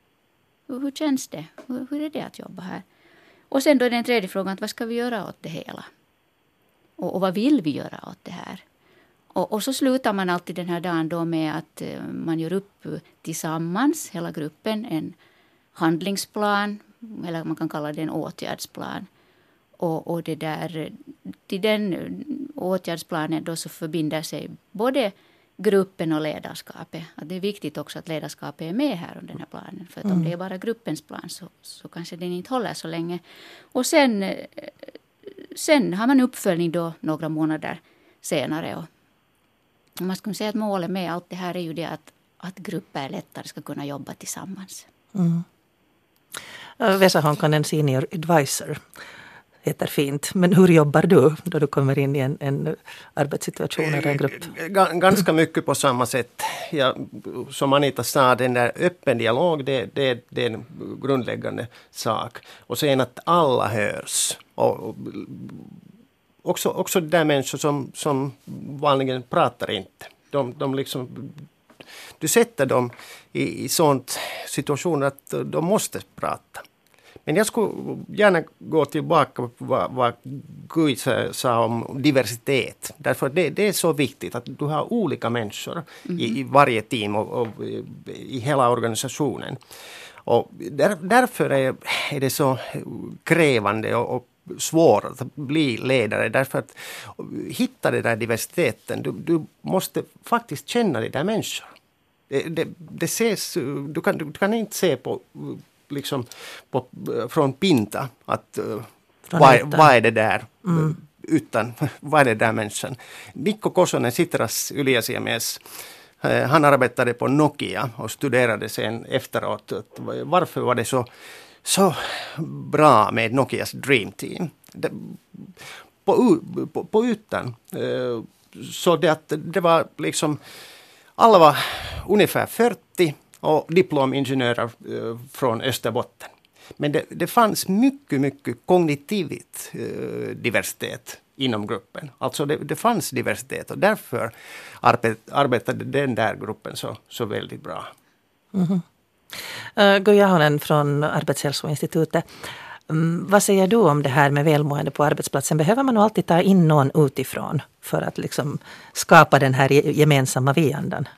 Hur känns det? Hur, hur är det att jobba här? Och sen då är den tredje frågan, vad ska vi göra åt det hela? Och, och vad vill vi göra åt det här? Och, och så slutar man alltid den här dagen då med att uh, man gör upp tillsammans, hela gruppen, en handlingsplan. Eller man kan kalla det en åtgärdsplan. Och, och det där, till den åtgärdsplanen då så förbinder sig både gruppen och ledarskapet. Att det är viktigt också att ledarskapet är med här om den här planen. För att mm. om det är bara gruppens plan så, så kanske den inte håller så länge. Och sen, sen har man uppföljning då några månader senare. Och man skulle säga att målet med allt det här är ju det att, att grupper lättare ska kunna jobba tillsammans. Mm. Vesa Honkanen, senior advisor, heter fint. Men hur jobbar du då du kommer in i en, en arbetssituation eller en grupp? Ganska mycket på samma sätt. Ja, som Anita sa, den där öppen dialog, det, det, det är en grundläggande sak. Och sen att alla hörs. Och, och också, också där människor som, som vanligen pratar inte. De, de liksom, du sätter dem i, i sånt situation att de måste prata. Men jag skulle gärna gå tillbaka på vad, vad Gud sa om diversitet. Därför att det, det är så viktigt att du har olika människor mm. i, i varje team och, och i, i hela organisationen. Och där, därför är, är det så krävande och, och svårt att bli ledare. Därför att hitta den där diversiteten, du, du måste faktiskt känna de där människor. Det, det, det ses, du, kan, du kan inte se på... liksom på, från pinta att uh, vad, vad är det där mm. utan vad är det där människan. Mikko Kosonen, Sitras Yliasiamies, uh, han arbetade på Nokia och studerade sen efteråt att, varför var det så, så bra med Nokias Dream Team. Det, på, på, på ytan uh, så det att det var liksom alla var ungefär fyrtio och diplomingenjörer eh, från Österbotten. Men det, det fanns mycket, mycket kognitivt eh, diversitet inom gruppen. Alltså det, det fanns diversitet och därför arbet, arbetade den där gruppen så, så väldigt bra. Mm-hmm. Uh, Guy Ahonen från Arbetshälsoinstitutet. Um, vad säger du om det här med välmående på arbetsplatsen? Behöver man nog alltid ta in någon utifrån för att liksom skapa den här gemensamma vi-andan?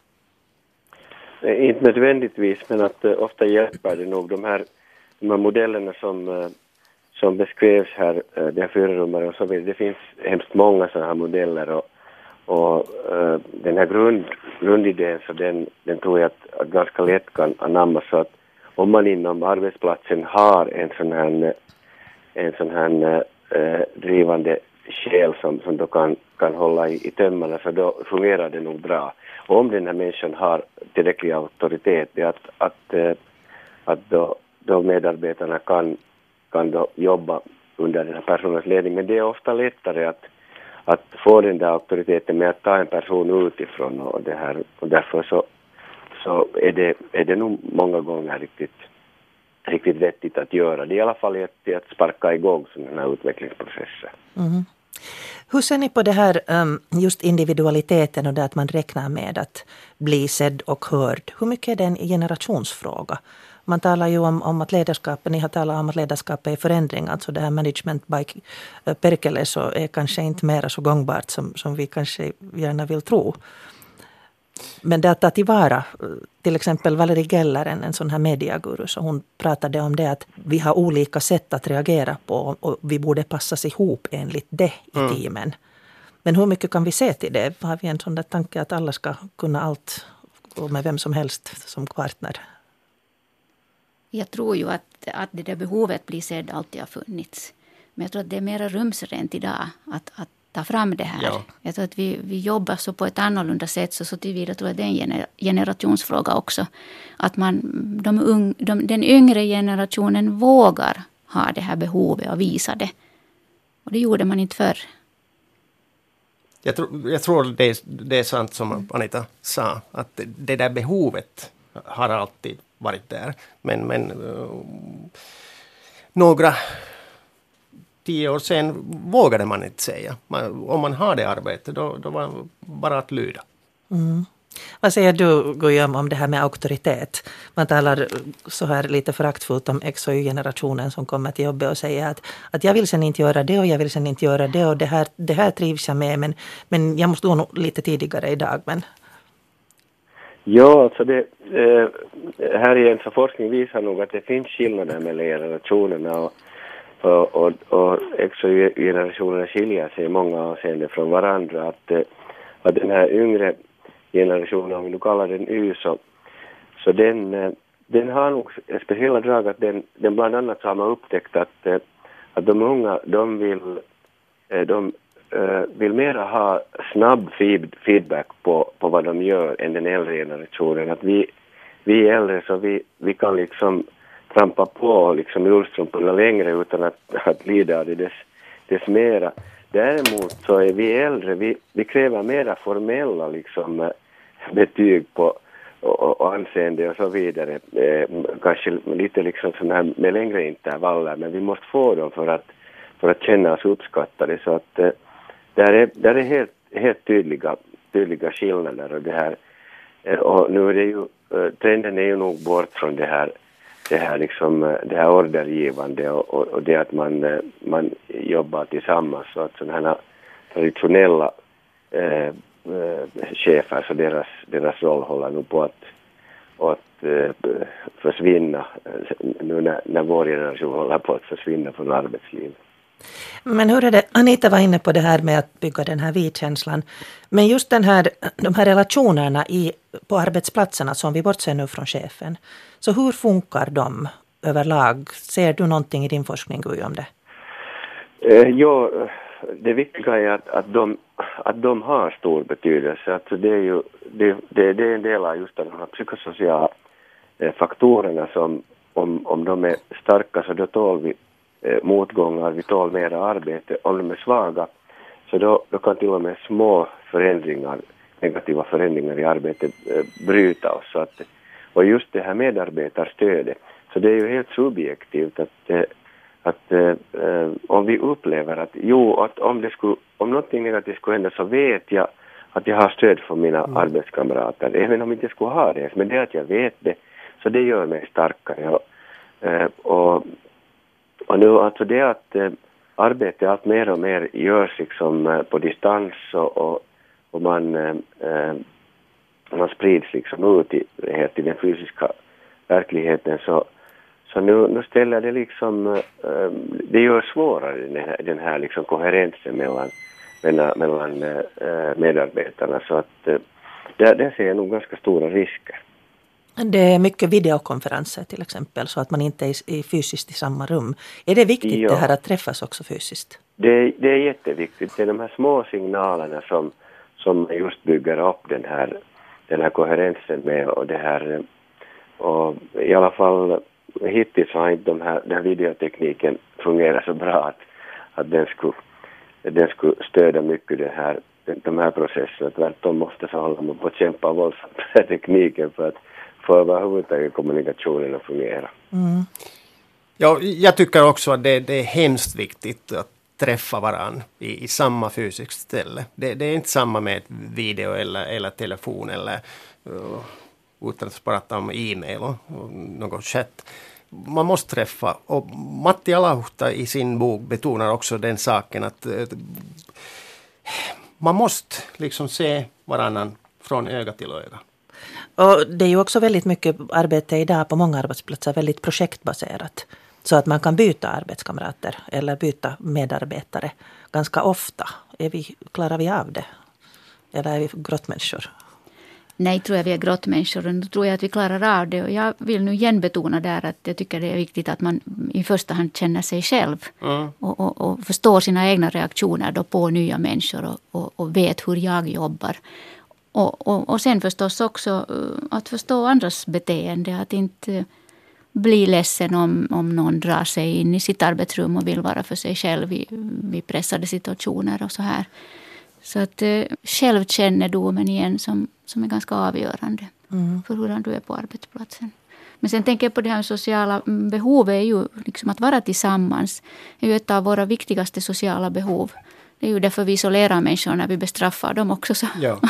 Inte nödvändigtvis, men att uh, ofta hjälper det nog de här, de här modellerna som, uh, som beskrevs här, uh, de här fyrarummare och så vidare. Det finns hemskt många sådana här modeller och, och uh, den här grund, grundidén så den, den tror jag att, att ganska lätt kan anammas. Så att om man inom arbetsplatsen har en sån här, en sån här uh, drivande själ som, som då kan, kan hålla i, i tömmarna, så då fungerar det nog bra. Och om den här människan har tillräcklig auktoritet, det är att, att, att då, då medarbetarna kan, kan då jobba under den här personens ledning. Men det är ofta lättare att, att få den där auktoriteten med att ta en person utifrån. Och, det här, och därför så, så är, det, är det nog många gånger riktigt, riktigt vettigt att göra. Det är i alla fall till att sparka igång sådana här utvecklingsprocesser. Mm. Hur ser ni på det här just individualiteten och det att man räknar med att bli sedd och hörd? Hur mycket är det en generationsfråga? Man talar ju om, om att ledarskapet, ni har talat om att ledarskapet är förändring. Alltså det här management by Perkele så är kanske inte mer så gångbart som, som vi kanske gärna vill tro. Men det att ta tillvara, till exempel Valerie Geller, en, en sån här mediaguru, så hon pratade om det att vi har olika sätt att reagera på och vi borde passas ihop enligt det i mm. teamen. Men hur mycket kan vi se till det? Har vi en sån där tanke att alla ska kunna allt och med vem som helst som partner? Jag tror ju att, att det där behovet blir sedd alltid har funnits. Men jag tror att det är mer rumsrent idag att, att ta fram det här. Ja. Jag tror att vi, vi jobbar så på ett annorlunda sätt, så, så tillvida tror jag det är en gener, generationsfråga också. Att man, de ung, de, den yngre generationen vågar ha det här behovet och visa det. Och det gjorde man inte förr. Jag tror, jag tror det, är, det är sant som Anita sa, att det, det där behovet har alltid varit där. Men, men uh, några tio år sedan vågade man inte säga. Man, om man har det arbetet, då, då var det bara att lyda. Mm. Vad säger du, Guillaume, om det här med auktoritet? Man talar så här lite föraktfullt om X och Y-generationen som kommer till jobbet och säger att, att jag vill sen inte göra det och jag vill sen inte göra det och det här, det här trivs jag med, men, men jag måste gå nog lite tidigare idag. Men... Ja, alltså det, eh, här igen så forskning visar nog att det finns skillnader mellan generationerna och Och, och, och X och Y-generationerna skiljer sig i många avseenden från varandra. Att, att den här yngre generationen, om vi nu kallar den Y, så, så den, den har nog speciella drag att den, den bland annat har man upptäckt att, att de unga, de vill, de, vill mera ha snabb feedback på, på vad de gör än den äldre generationen. Att vi, vi äldre så vi, vi kan liksom trampa på liksom ullstrumporna längre utan att, att lida av det dess, dess mera. Däremot så är vi äldre, vi, vi kräver mera formella liksom, betyg på och, och anseende och så vidare. Eh, kanske lite liksom sån här med längre intervaller, men vi måste få dem för att, för att känna oss uppskattade. Så att eh, där är, där är helt, helt tydliga, tydliga skillnader. Och, det här, eh, och nu är det ju, eh, trenden är ju nog bort från det här, det här, liksom, eh, det här ordergivande och, och, och det att man, eh, man jobbar tillsammans. Så att sådana här traditionella eh, eh, chefer, så deras, deras roll håller nu på att, att eh, försvinna nu när, när vår generation håller på att försvinna från arbetslivet. Men hur är det, Anita var inne på det här med att bygga den här vi-känslan. Men just den här, de här relationerna i, på arbetsplatserna som vi bortser nu från chefen. Så hur funkar de överlag? Ser du någonting i din forskning om det? Eh, ja, det viktiga är att, att, de, att de har stor betydelse. Alltså det, är ju, det, det, det är en del av just de här psykosociala eh, faktorerna som om, om de är starka så då tål vi eh, motgångar, vi tål mera arbete. Om de är svaga så då, då kan till och med små förändringar, negativa förändringar i arbetet eh, bryta oss. Så att, och just det här medarbetarstödet, så det är ju helt subjektivt att eh, att eh, om vi upplever att jo, att om det skulle, om någonting negativt skulle hända så vet jag att jag har stöd från mina mm. arbetskamrater, även om jag inte skulle ha det, men det att jag vet det, så det gör mig starkare. Och, eh, och, och nu alltså det att eh, arbetet allt mer och mer görs liksom eh, på distans och, och, och man, eh, man sprids liksom ut i, helt i den fysiska verkligheten, så Så nu, nu ställer det liksom, äh, det gör svårare den här, den här liksom koherensen mellan, mellan, mellan äh, medarbetarna. Så att äh, där, där ser jag nog ganska stora risker. Det är mycket videokonferenser till exempel, så att man inte är, är fysiskt i samma rum. Är det viktigt ja. det här att träffas också fysiskt? Det, det är jätteviktigt. Det är de här små signalerna som, som just bygger upp den här, den här koherensen med och det här, och i alla fall hittills har inte de här, den här videotekniken fungerat så bra att, att den, skulle, den skulle stödja mycket det här, de här processerna. Tvärtom måste så hålla man på att kämpa våldsamt med tekniken för att få överhuvudtaget kommunikationen att fungera. Mm. Ja, jag tycker också att det, det är hemskt viktigt att träffa varann i, i samma fysiskt ställe. Det, det är inte samma med video eller, eller telefon eller uh, utan att prata om e-mail och, och något chatt. Man måste träffa. Och Matti Alahuhta i sin bok betonar också den saken att uh, man måste liksom se varannan från öga till öga. Och det är ju också väldigt mycket arbete idag på många arbetsplatser väldigt projektbaserat. Så att man kan byta arbetskamrater eller byta medarbetare ganska ofta. Är vi, klarar vi av det? Eller är vi grottmänniskor? Nej, tror jag vi är grottmänniskor, och då tror jag att vi klarar av det. Och jag vill nu igen betona där att jag tycker det är viktigt att man i första hand känner sig själv. Mm. Och, och, och förstår sina egna reaktioner då på nya människor och, och, och vet hur jag jobbar. Och, och, och sen förstås också att förstå andras beteende, att inte bli ledsen om, om någon drar sig in i sitt arbetsrum och vill vara för sig själv i, i pressade situationer och så här. Så att eh, självkännedomen igen som, som är ganska avgörande mm. för hur du är på arbetsplatsen. Men sen tänker jag på det här sociala behovet är ju liksom att vara tillsammans. Det är ju ett av våra viktigaste sociala behov. Det är ju därför vi isolerar människor när vi bestraffar dem också. Så, ja.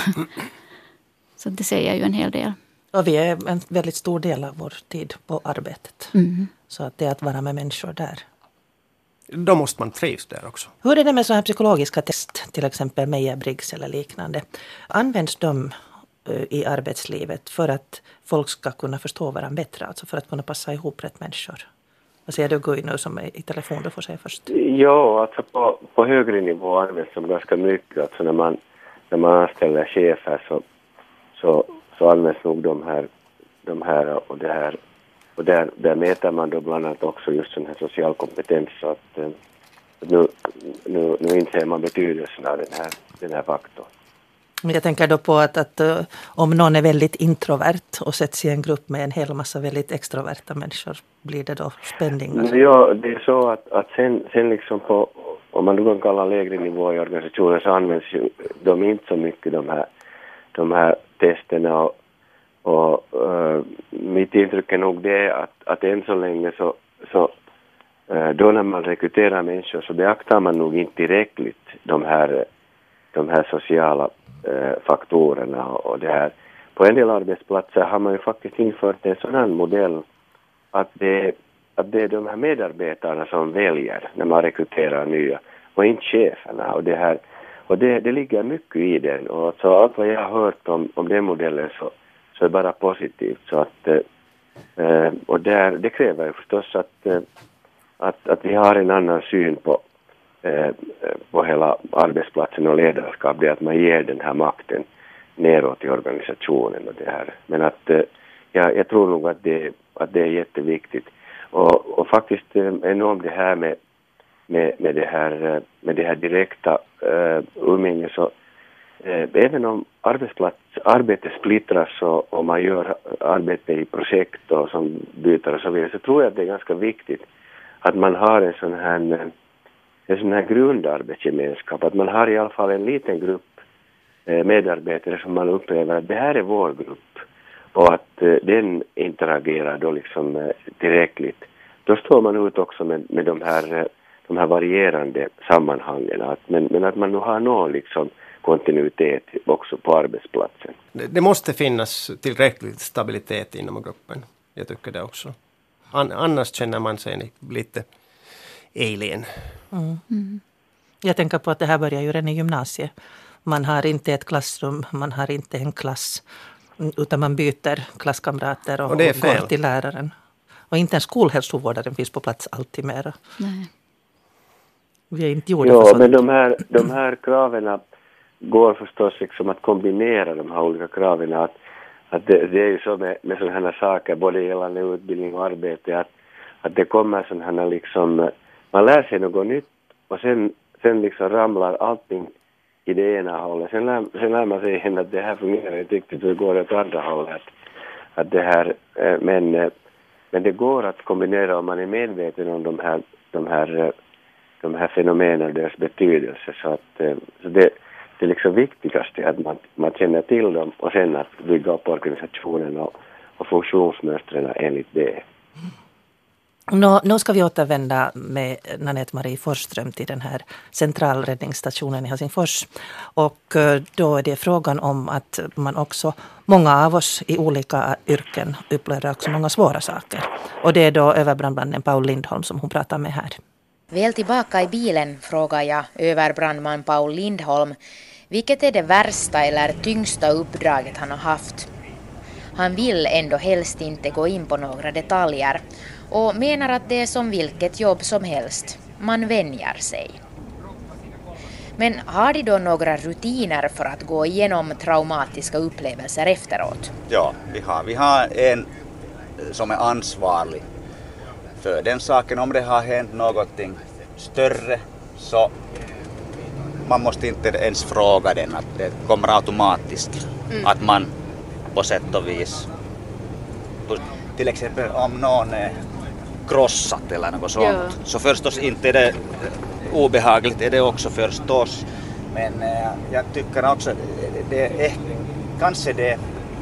Så det säger ju en hel del. Och vi är en väldigt stor del av vår tid på arbetet. Mm. Så att det är att vara med människor där. Då måste man trivas där också. Hur är det med så här psykologiska test, till exempel Meyer-Briggs eller liknande? Används de i arbetslivet för att folk ska kunna förstå varandra bättre? Alltså för att kunna passa ihop rätt människor? Vad säger du Guy nu som är i telefon? Du får säga först. Ja, alltså på, på högre nivå används de ganska mycket. Alltså när man, när man anställer chefer så, så, så används nog de här, de här och det här. Och där, där mäter man då bland annat också just sån här social kompetens. Så att eh, nu, nu, nu inser man betydelsen av den här, den här faktorn. Jag tänker då på att, att uh, om någon är väldigt introvert och sätts i en grupp med en hel massa väldigt extroverta människor, blir det då spänningar? Ja, det är så att, att sen, sen liksom på, om man då kan kalla lägre nivå i organisationen, så används ju de inte så mycket de här, de här testerna. Och, och uh, mitt intryck är nog det att, att än så länge så, så då när man rekryterar människor så beaktar man nog inte tillräckligt de här, de här sociala eh, faktorerna och det här. På en del arbetsplatser har man ju faktiskt infört en sån här modell att det, att det är de här medarbetarna som väljer när man rekryterar nya och inte cheferna. Och det, här, och det, det ligger mycket i den. Och så allt vad jag har hört om, om den modellen så, så är det bara positivt. Så att, eh, och där, det kräver ju förstås att, eh, att, att vi har en annan syn på, eh, på hela arbetsplatsen och ledarskap. Det är att man ger den här makten neråt i organisationen och det här. Men att eh, ja, jag tror nog att det, att det är jätteviktigt. Och, och faktiskt eh, enormt det här med, med, med, det, här, med det här direkta eh, umgänget så eh, även om arbetsplats, arbetet splittras och, och man gör arbete i projekt och som byter och så vidare så tror jag att det är ganska viktigt att man har en sån här, en sån här grundarbetsgemenskap. Att man har i alla fall en liten grupp medarbetare som man upplever att det här är vår grupp och att eh, den interagerar då liksom eh, tillräckligt. Då står man ut också med, med de, här, de här varierande sammanhangen. Att, men, men att man nu har någon liksom kontinuitet också på arbetsplatsen. Det, det måste finnas tillräckligt stabilitet inom gruppen. Jag tycker det också. An, annars känner man sig lite alien. Mm. Mm. Jag tänker på att det här börjar ju redan i gymnasiet. Man har inte ett klassrum, man har inte en klass, utan man byter klasskamrater och, och, och går till läraren. Och inte en skolhälsovårdaren finns på plats alltid mera. Nej. Vi är inte gjorda ja, för sånt. Men de här, de här kraven går förstås liksom att kombinera de här olika kraven. Att, att det, det är ju så med, med sådana här saker, både gällande utbildning och arbete, att, att det kommer sådana här liksom, man lär sig något nytt och sen, sen liksom ramlar allting i det ena hållet. Sen lär, sen lär man sig igen att det här fungerar inte riktigt, det går åt andra hållet. Att det här, men, men det går att kombinera om man är medveten om de här, de här, de här fenomenen och deras betydelse. Så, att, så det, det är liksom viktigaste att man, man känner till dem och sen att bygga upp organisationen och, och funktionsmönstren enligt det. Nå, nu ska vi återvända med Nanette Marie Forsström till den här centralräddningsstationen i Helsingfors. Och då är det frågan om att man också, många av oss i olika yrken upplever också många svåra saker. Och det är då överbrandmannen Paul Lindholm som hon pratar med här. Väl tillbaka i bilen frågar jag överbrandman Paul Lindholm vilket är det värsta eller tyngsta uppdraget han har haft. Han vill ändå helst inte gå in på några detaljer och menar att det är som vilket jobb som helst. Man vänjer sig. Men har de då några rutiner för att gå igenom traumatiska upplevelser efteråt? Ja, vi har, vi har en som är ansvarig för den saken. Om det har hänt någonting större så man måste inte ens fråga den. Att det kommer automatiskt. Mm. Att man på sätt och vis, till exempel om någon är krossat eller något sånt, ja. Så förstås inte är det obehagligt, är det också förstås. Men äh, jag tycker också det, det är kanske det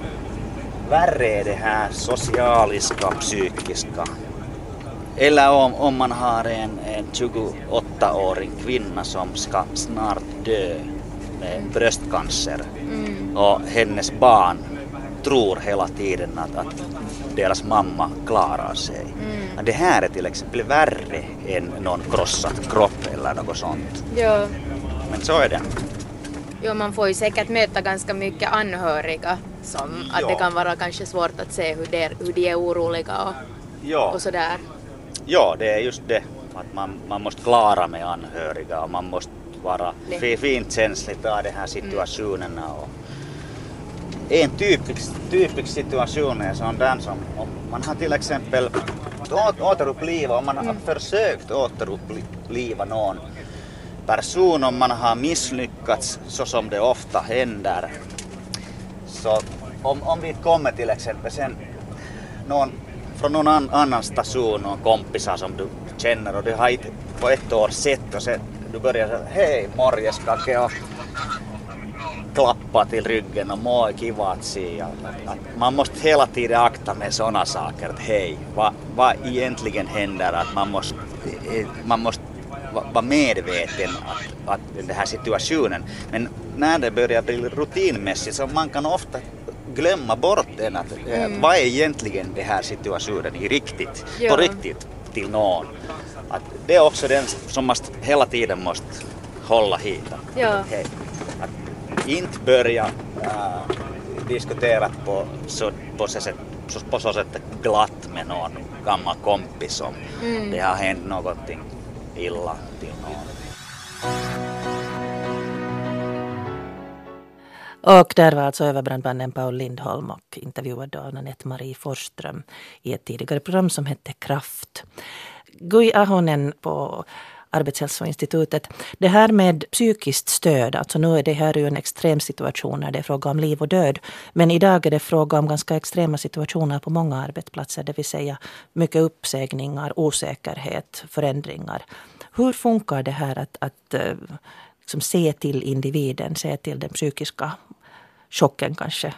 värre är det här socialiska, psykiska. Eller om, om man har en, en tjugoåttaårig kvinna som ska snart dö med bröstcancer. Mm. Och hennes barn tror hela tiden att, att deras mamma klarar sig. Mm. Det här är till exempel värre än någon krossad kropp eller något sånt. Ja. Men så är det. Jo, man får ju säkert möta ganska mycket anhöriga som att ja. Det kan vara kanske svårt att se hur de, hur de är oroliga och, ja. Och sådär. Ja, det är just det. Att man, man måste klara med anhöriga och man måste vara det. Fint känslig av de här situationerna. Mm. Och en typisk, typisk situation är sån där som om man har till exempel återuppliva, om man har mm. försökt återuppliva någon person, om man har misslyckats så som det ofta händer. Så om, om vi kommer till exempel sen någon från någon annan station, någon kompisar som du känner och du har inte på ett år sett och sen du börjar säga hej morjes kake och klappa till ryggen och må kiva att se. Man måste hela tiden akta med sådana saker att hej, vad, vad egentligen händer? Att man måste man måste vara medveten att, att den här situationen. Men när det börjar bli rutinmässigt så man kan ofta glömma bort den att, mm. att vad är egentligen den här situationen i riktigt, ja. på riktigt till någon. Att det är också den som man hela tiden måste hålla hit. Ja. Att, att inte börja äh, diskutera på så, på, så sätt, på så sätt glatt med någon gammal kompis som mm. det har hänt någonting illa till någon. Och där var alltså överbrandmannen Paul Lindholm och intervjuad av Nanette Marie Forsström i ett tidigare program som hette Kraft. Gui Ahonen på Arbetshälsoinstitutet. Det här med psykiskt stöd, alltså nu är det här ju en extrem situation när det är fråga om liv och död. Men idag är det fråga om ganska extrema situationer på många arbetsplatser, det vill säga mycket uppsägningar, osäkerhet, förändringar. Hur funkar det här att, att liksom se till individen, se till den psykiska chocken kanske?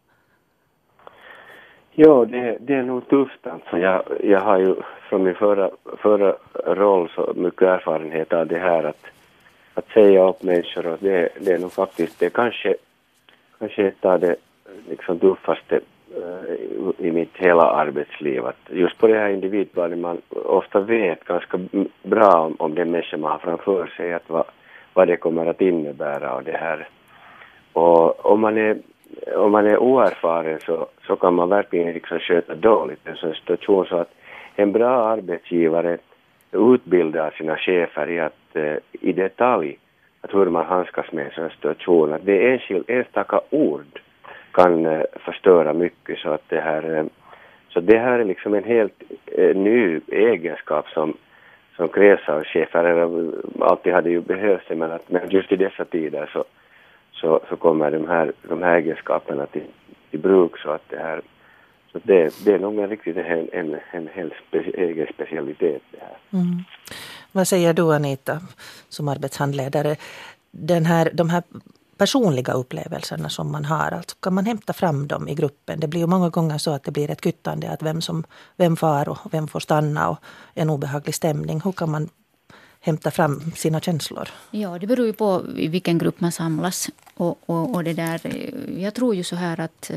Ja, det, det är nog tufft. Alltså. Jag, jag har ju från min förra, förra roll så mycket erfarenhet av det här att, att säga upp människor. Och det, det är nog faktiskt det kanske, kanske ett av det liksom tuffaste uh, i mitt hela arbetsliv. Att just på det här individplanet man ofta vet ganska bra om, om den människa man har framför sig. Att vad, vad det kommer att innebära och det här. Och om man är Om man är oerfaren så, så kan man verkligen liksom sköta dåligt en sån situation, så att en bra arbetsgivare utbildar sina chefer i, att, eh, i detalj att hur man handskas med en sån situation. Att det är enskild, enstaka ord kan eh, förstöra mycket, så att det här, eh, så det här är liksom en helt eh, ny egenskap som, som krävs av chefer. Alltid hade ju behövts, men, att, men just i dessa tider så Så, så kommer de här, de här egenskaperna till, till bruk, så att det här, så det, det är nog en riktigt en, en, en hel speci, egen specialitet det här. Mm. Vad säger du, Anita, som arbetshandledare? Den här, de här personliga upplevelserna som man har, alltså kan man hämta fram dem i gruppen? Det blir ju många gånger så att det blir ett kyttande, att vem som vem far och vem får stanna och en obehaglig stämning. Hur kan man hämta fram sina känslor? Ja, det beror ju på i vilken grupp man samlas. Och, och, och det där, jag tror ju så här att,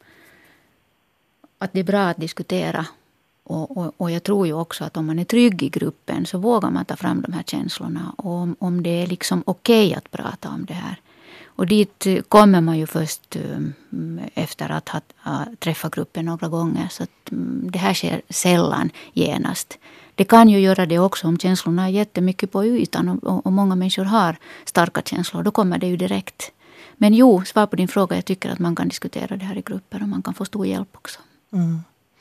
att det är bra att diskutera. Och, och, och jag tror ju också att om man är trygg i gruppen så vågar man ta fram de här känslorna. Och om, om det är liksom okej att prata om det här. Och dit kommer man ju först efter att ha, ha träffat gruppen några gånger. Så att det här sker sällan genast. Det kan ju göra det också om känslorna är jättemycket på ytan och, och många människor har starka känslor. Då kommer det ju direkt. Men jo, svar på din fråga, jag tycker att man kan diskutera det här i grupper och man kan få stor hjälp också. Mm.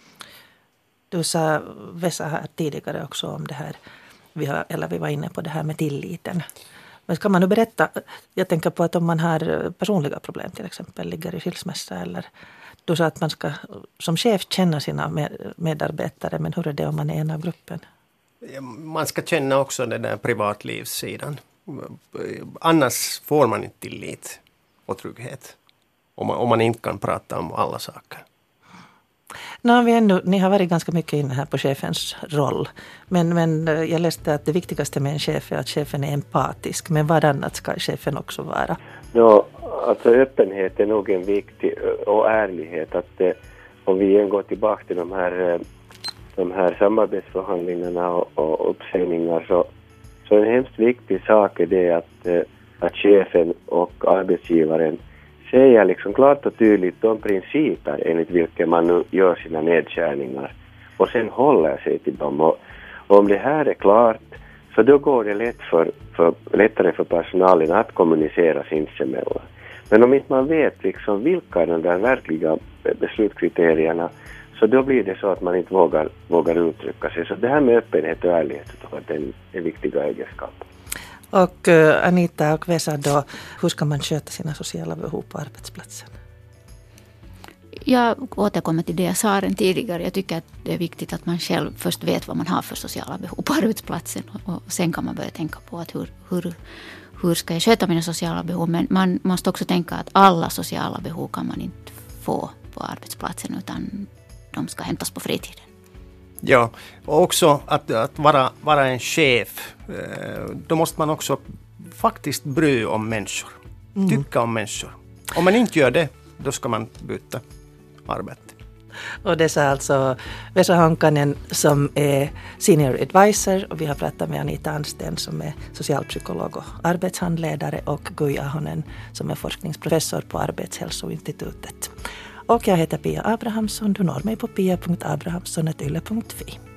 Du sa, Vesa, här tidigare också om det här, vi har, eller vi var inne på det här med tilliten. Men kan man nu berätta, jag tänker på att om man har personliga problem till exempel, ligger i skilsmässa eller du sa att man ska som chef känna sina medarbetare, men hur är det om man är en av gruppen? Man ska känna också den där privatlivssidan. Annars får man inte tillit och trygghet. Om man, om man inte kan prata om alla saker. Nu har vi ändå, ni har varit ganska mycket inne här på chefens roll. Men, men jag läste att det viktigaste med en chef är att chefen är empatisk. Men vad annat ska chefen också vara? Ja, alltså öppenhet är nog en viktig, och ärlighet. Att eh, om vi igen går tillbaka till de här, de här samarbetsförhandlingarna och, och uppsägningar, så, så en hemskt viktig sak är det att, eh, att chefen och arbetsgivaren säger liksom klart och tydligt de principer enligt vilka man nu gör sina nedskärningar och sen håller sig till dem. Och, och om det här är klart, så då går det lätt för, för, lättare för personalen att kommunicera sinsemellan. Men om inte man vet liksom vilka är de där verkliga beslutskriterierna, så då blir det så att man inte vågar, vågar uttrycka sig. Så det här med öppenhet och ärlighet är en, en viktiga egenskap. Och uh, Anita och Vesa då, hur ska man sköta sina sociala behov på arbetsplatsen? Jag återkommer till det jag sa redan tidigare. Jag tycker att det är viktigt att man själv först vet vad man har för sociala behov på arbetsplatsen. Och sen kan man börja tänka på att hur, hur, hur ska jag sköta mina sociala behov. Men man måste också tänka att alla sociala behov kan man inte få på arbetsplatsen, utan de ska hämtas på fritiden. Ja, och också att, att vara, vara en chef, då måste man också faktiskt bry om människor, mm. tycka om människor. Om man inte gör det, då ska man byta arbete. Och det sa alltså Vesa Honkanen som är senior advisor, och vi har pratat med Anita Ansten som är socialpsykolog och arbetshandledare, och Guy Ahonen som är forskningsprofessor på Arbetshälsoinstitutet. Och jag heter Pia Abrahamsson. Du når mig på pia punkt abrahamsson snabel-a yle punkt fi.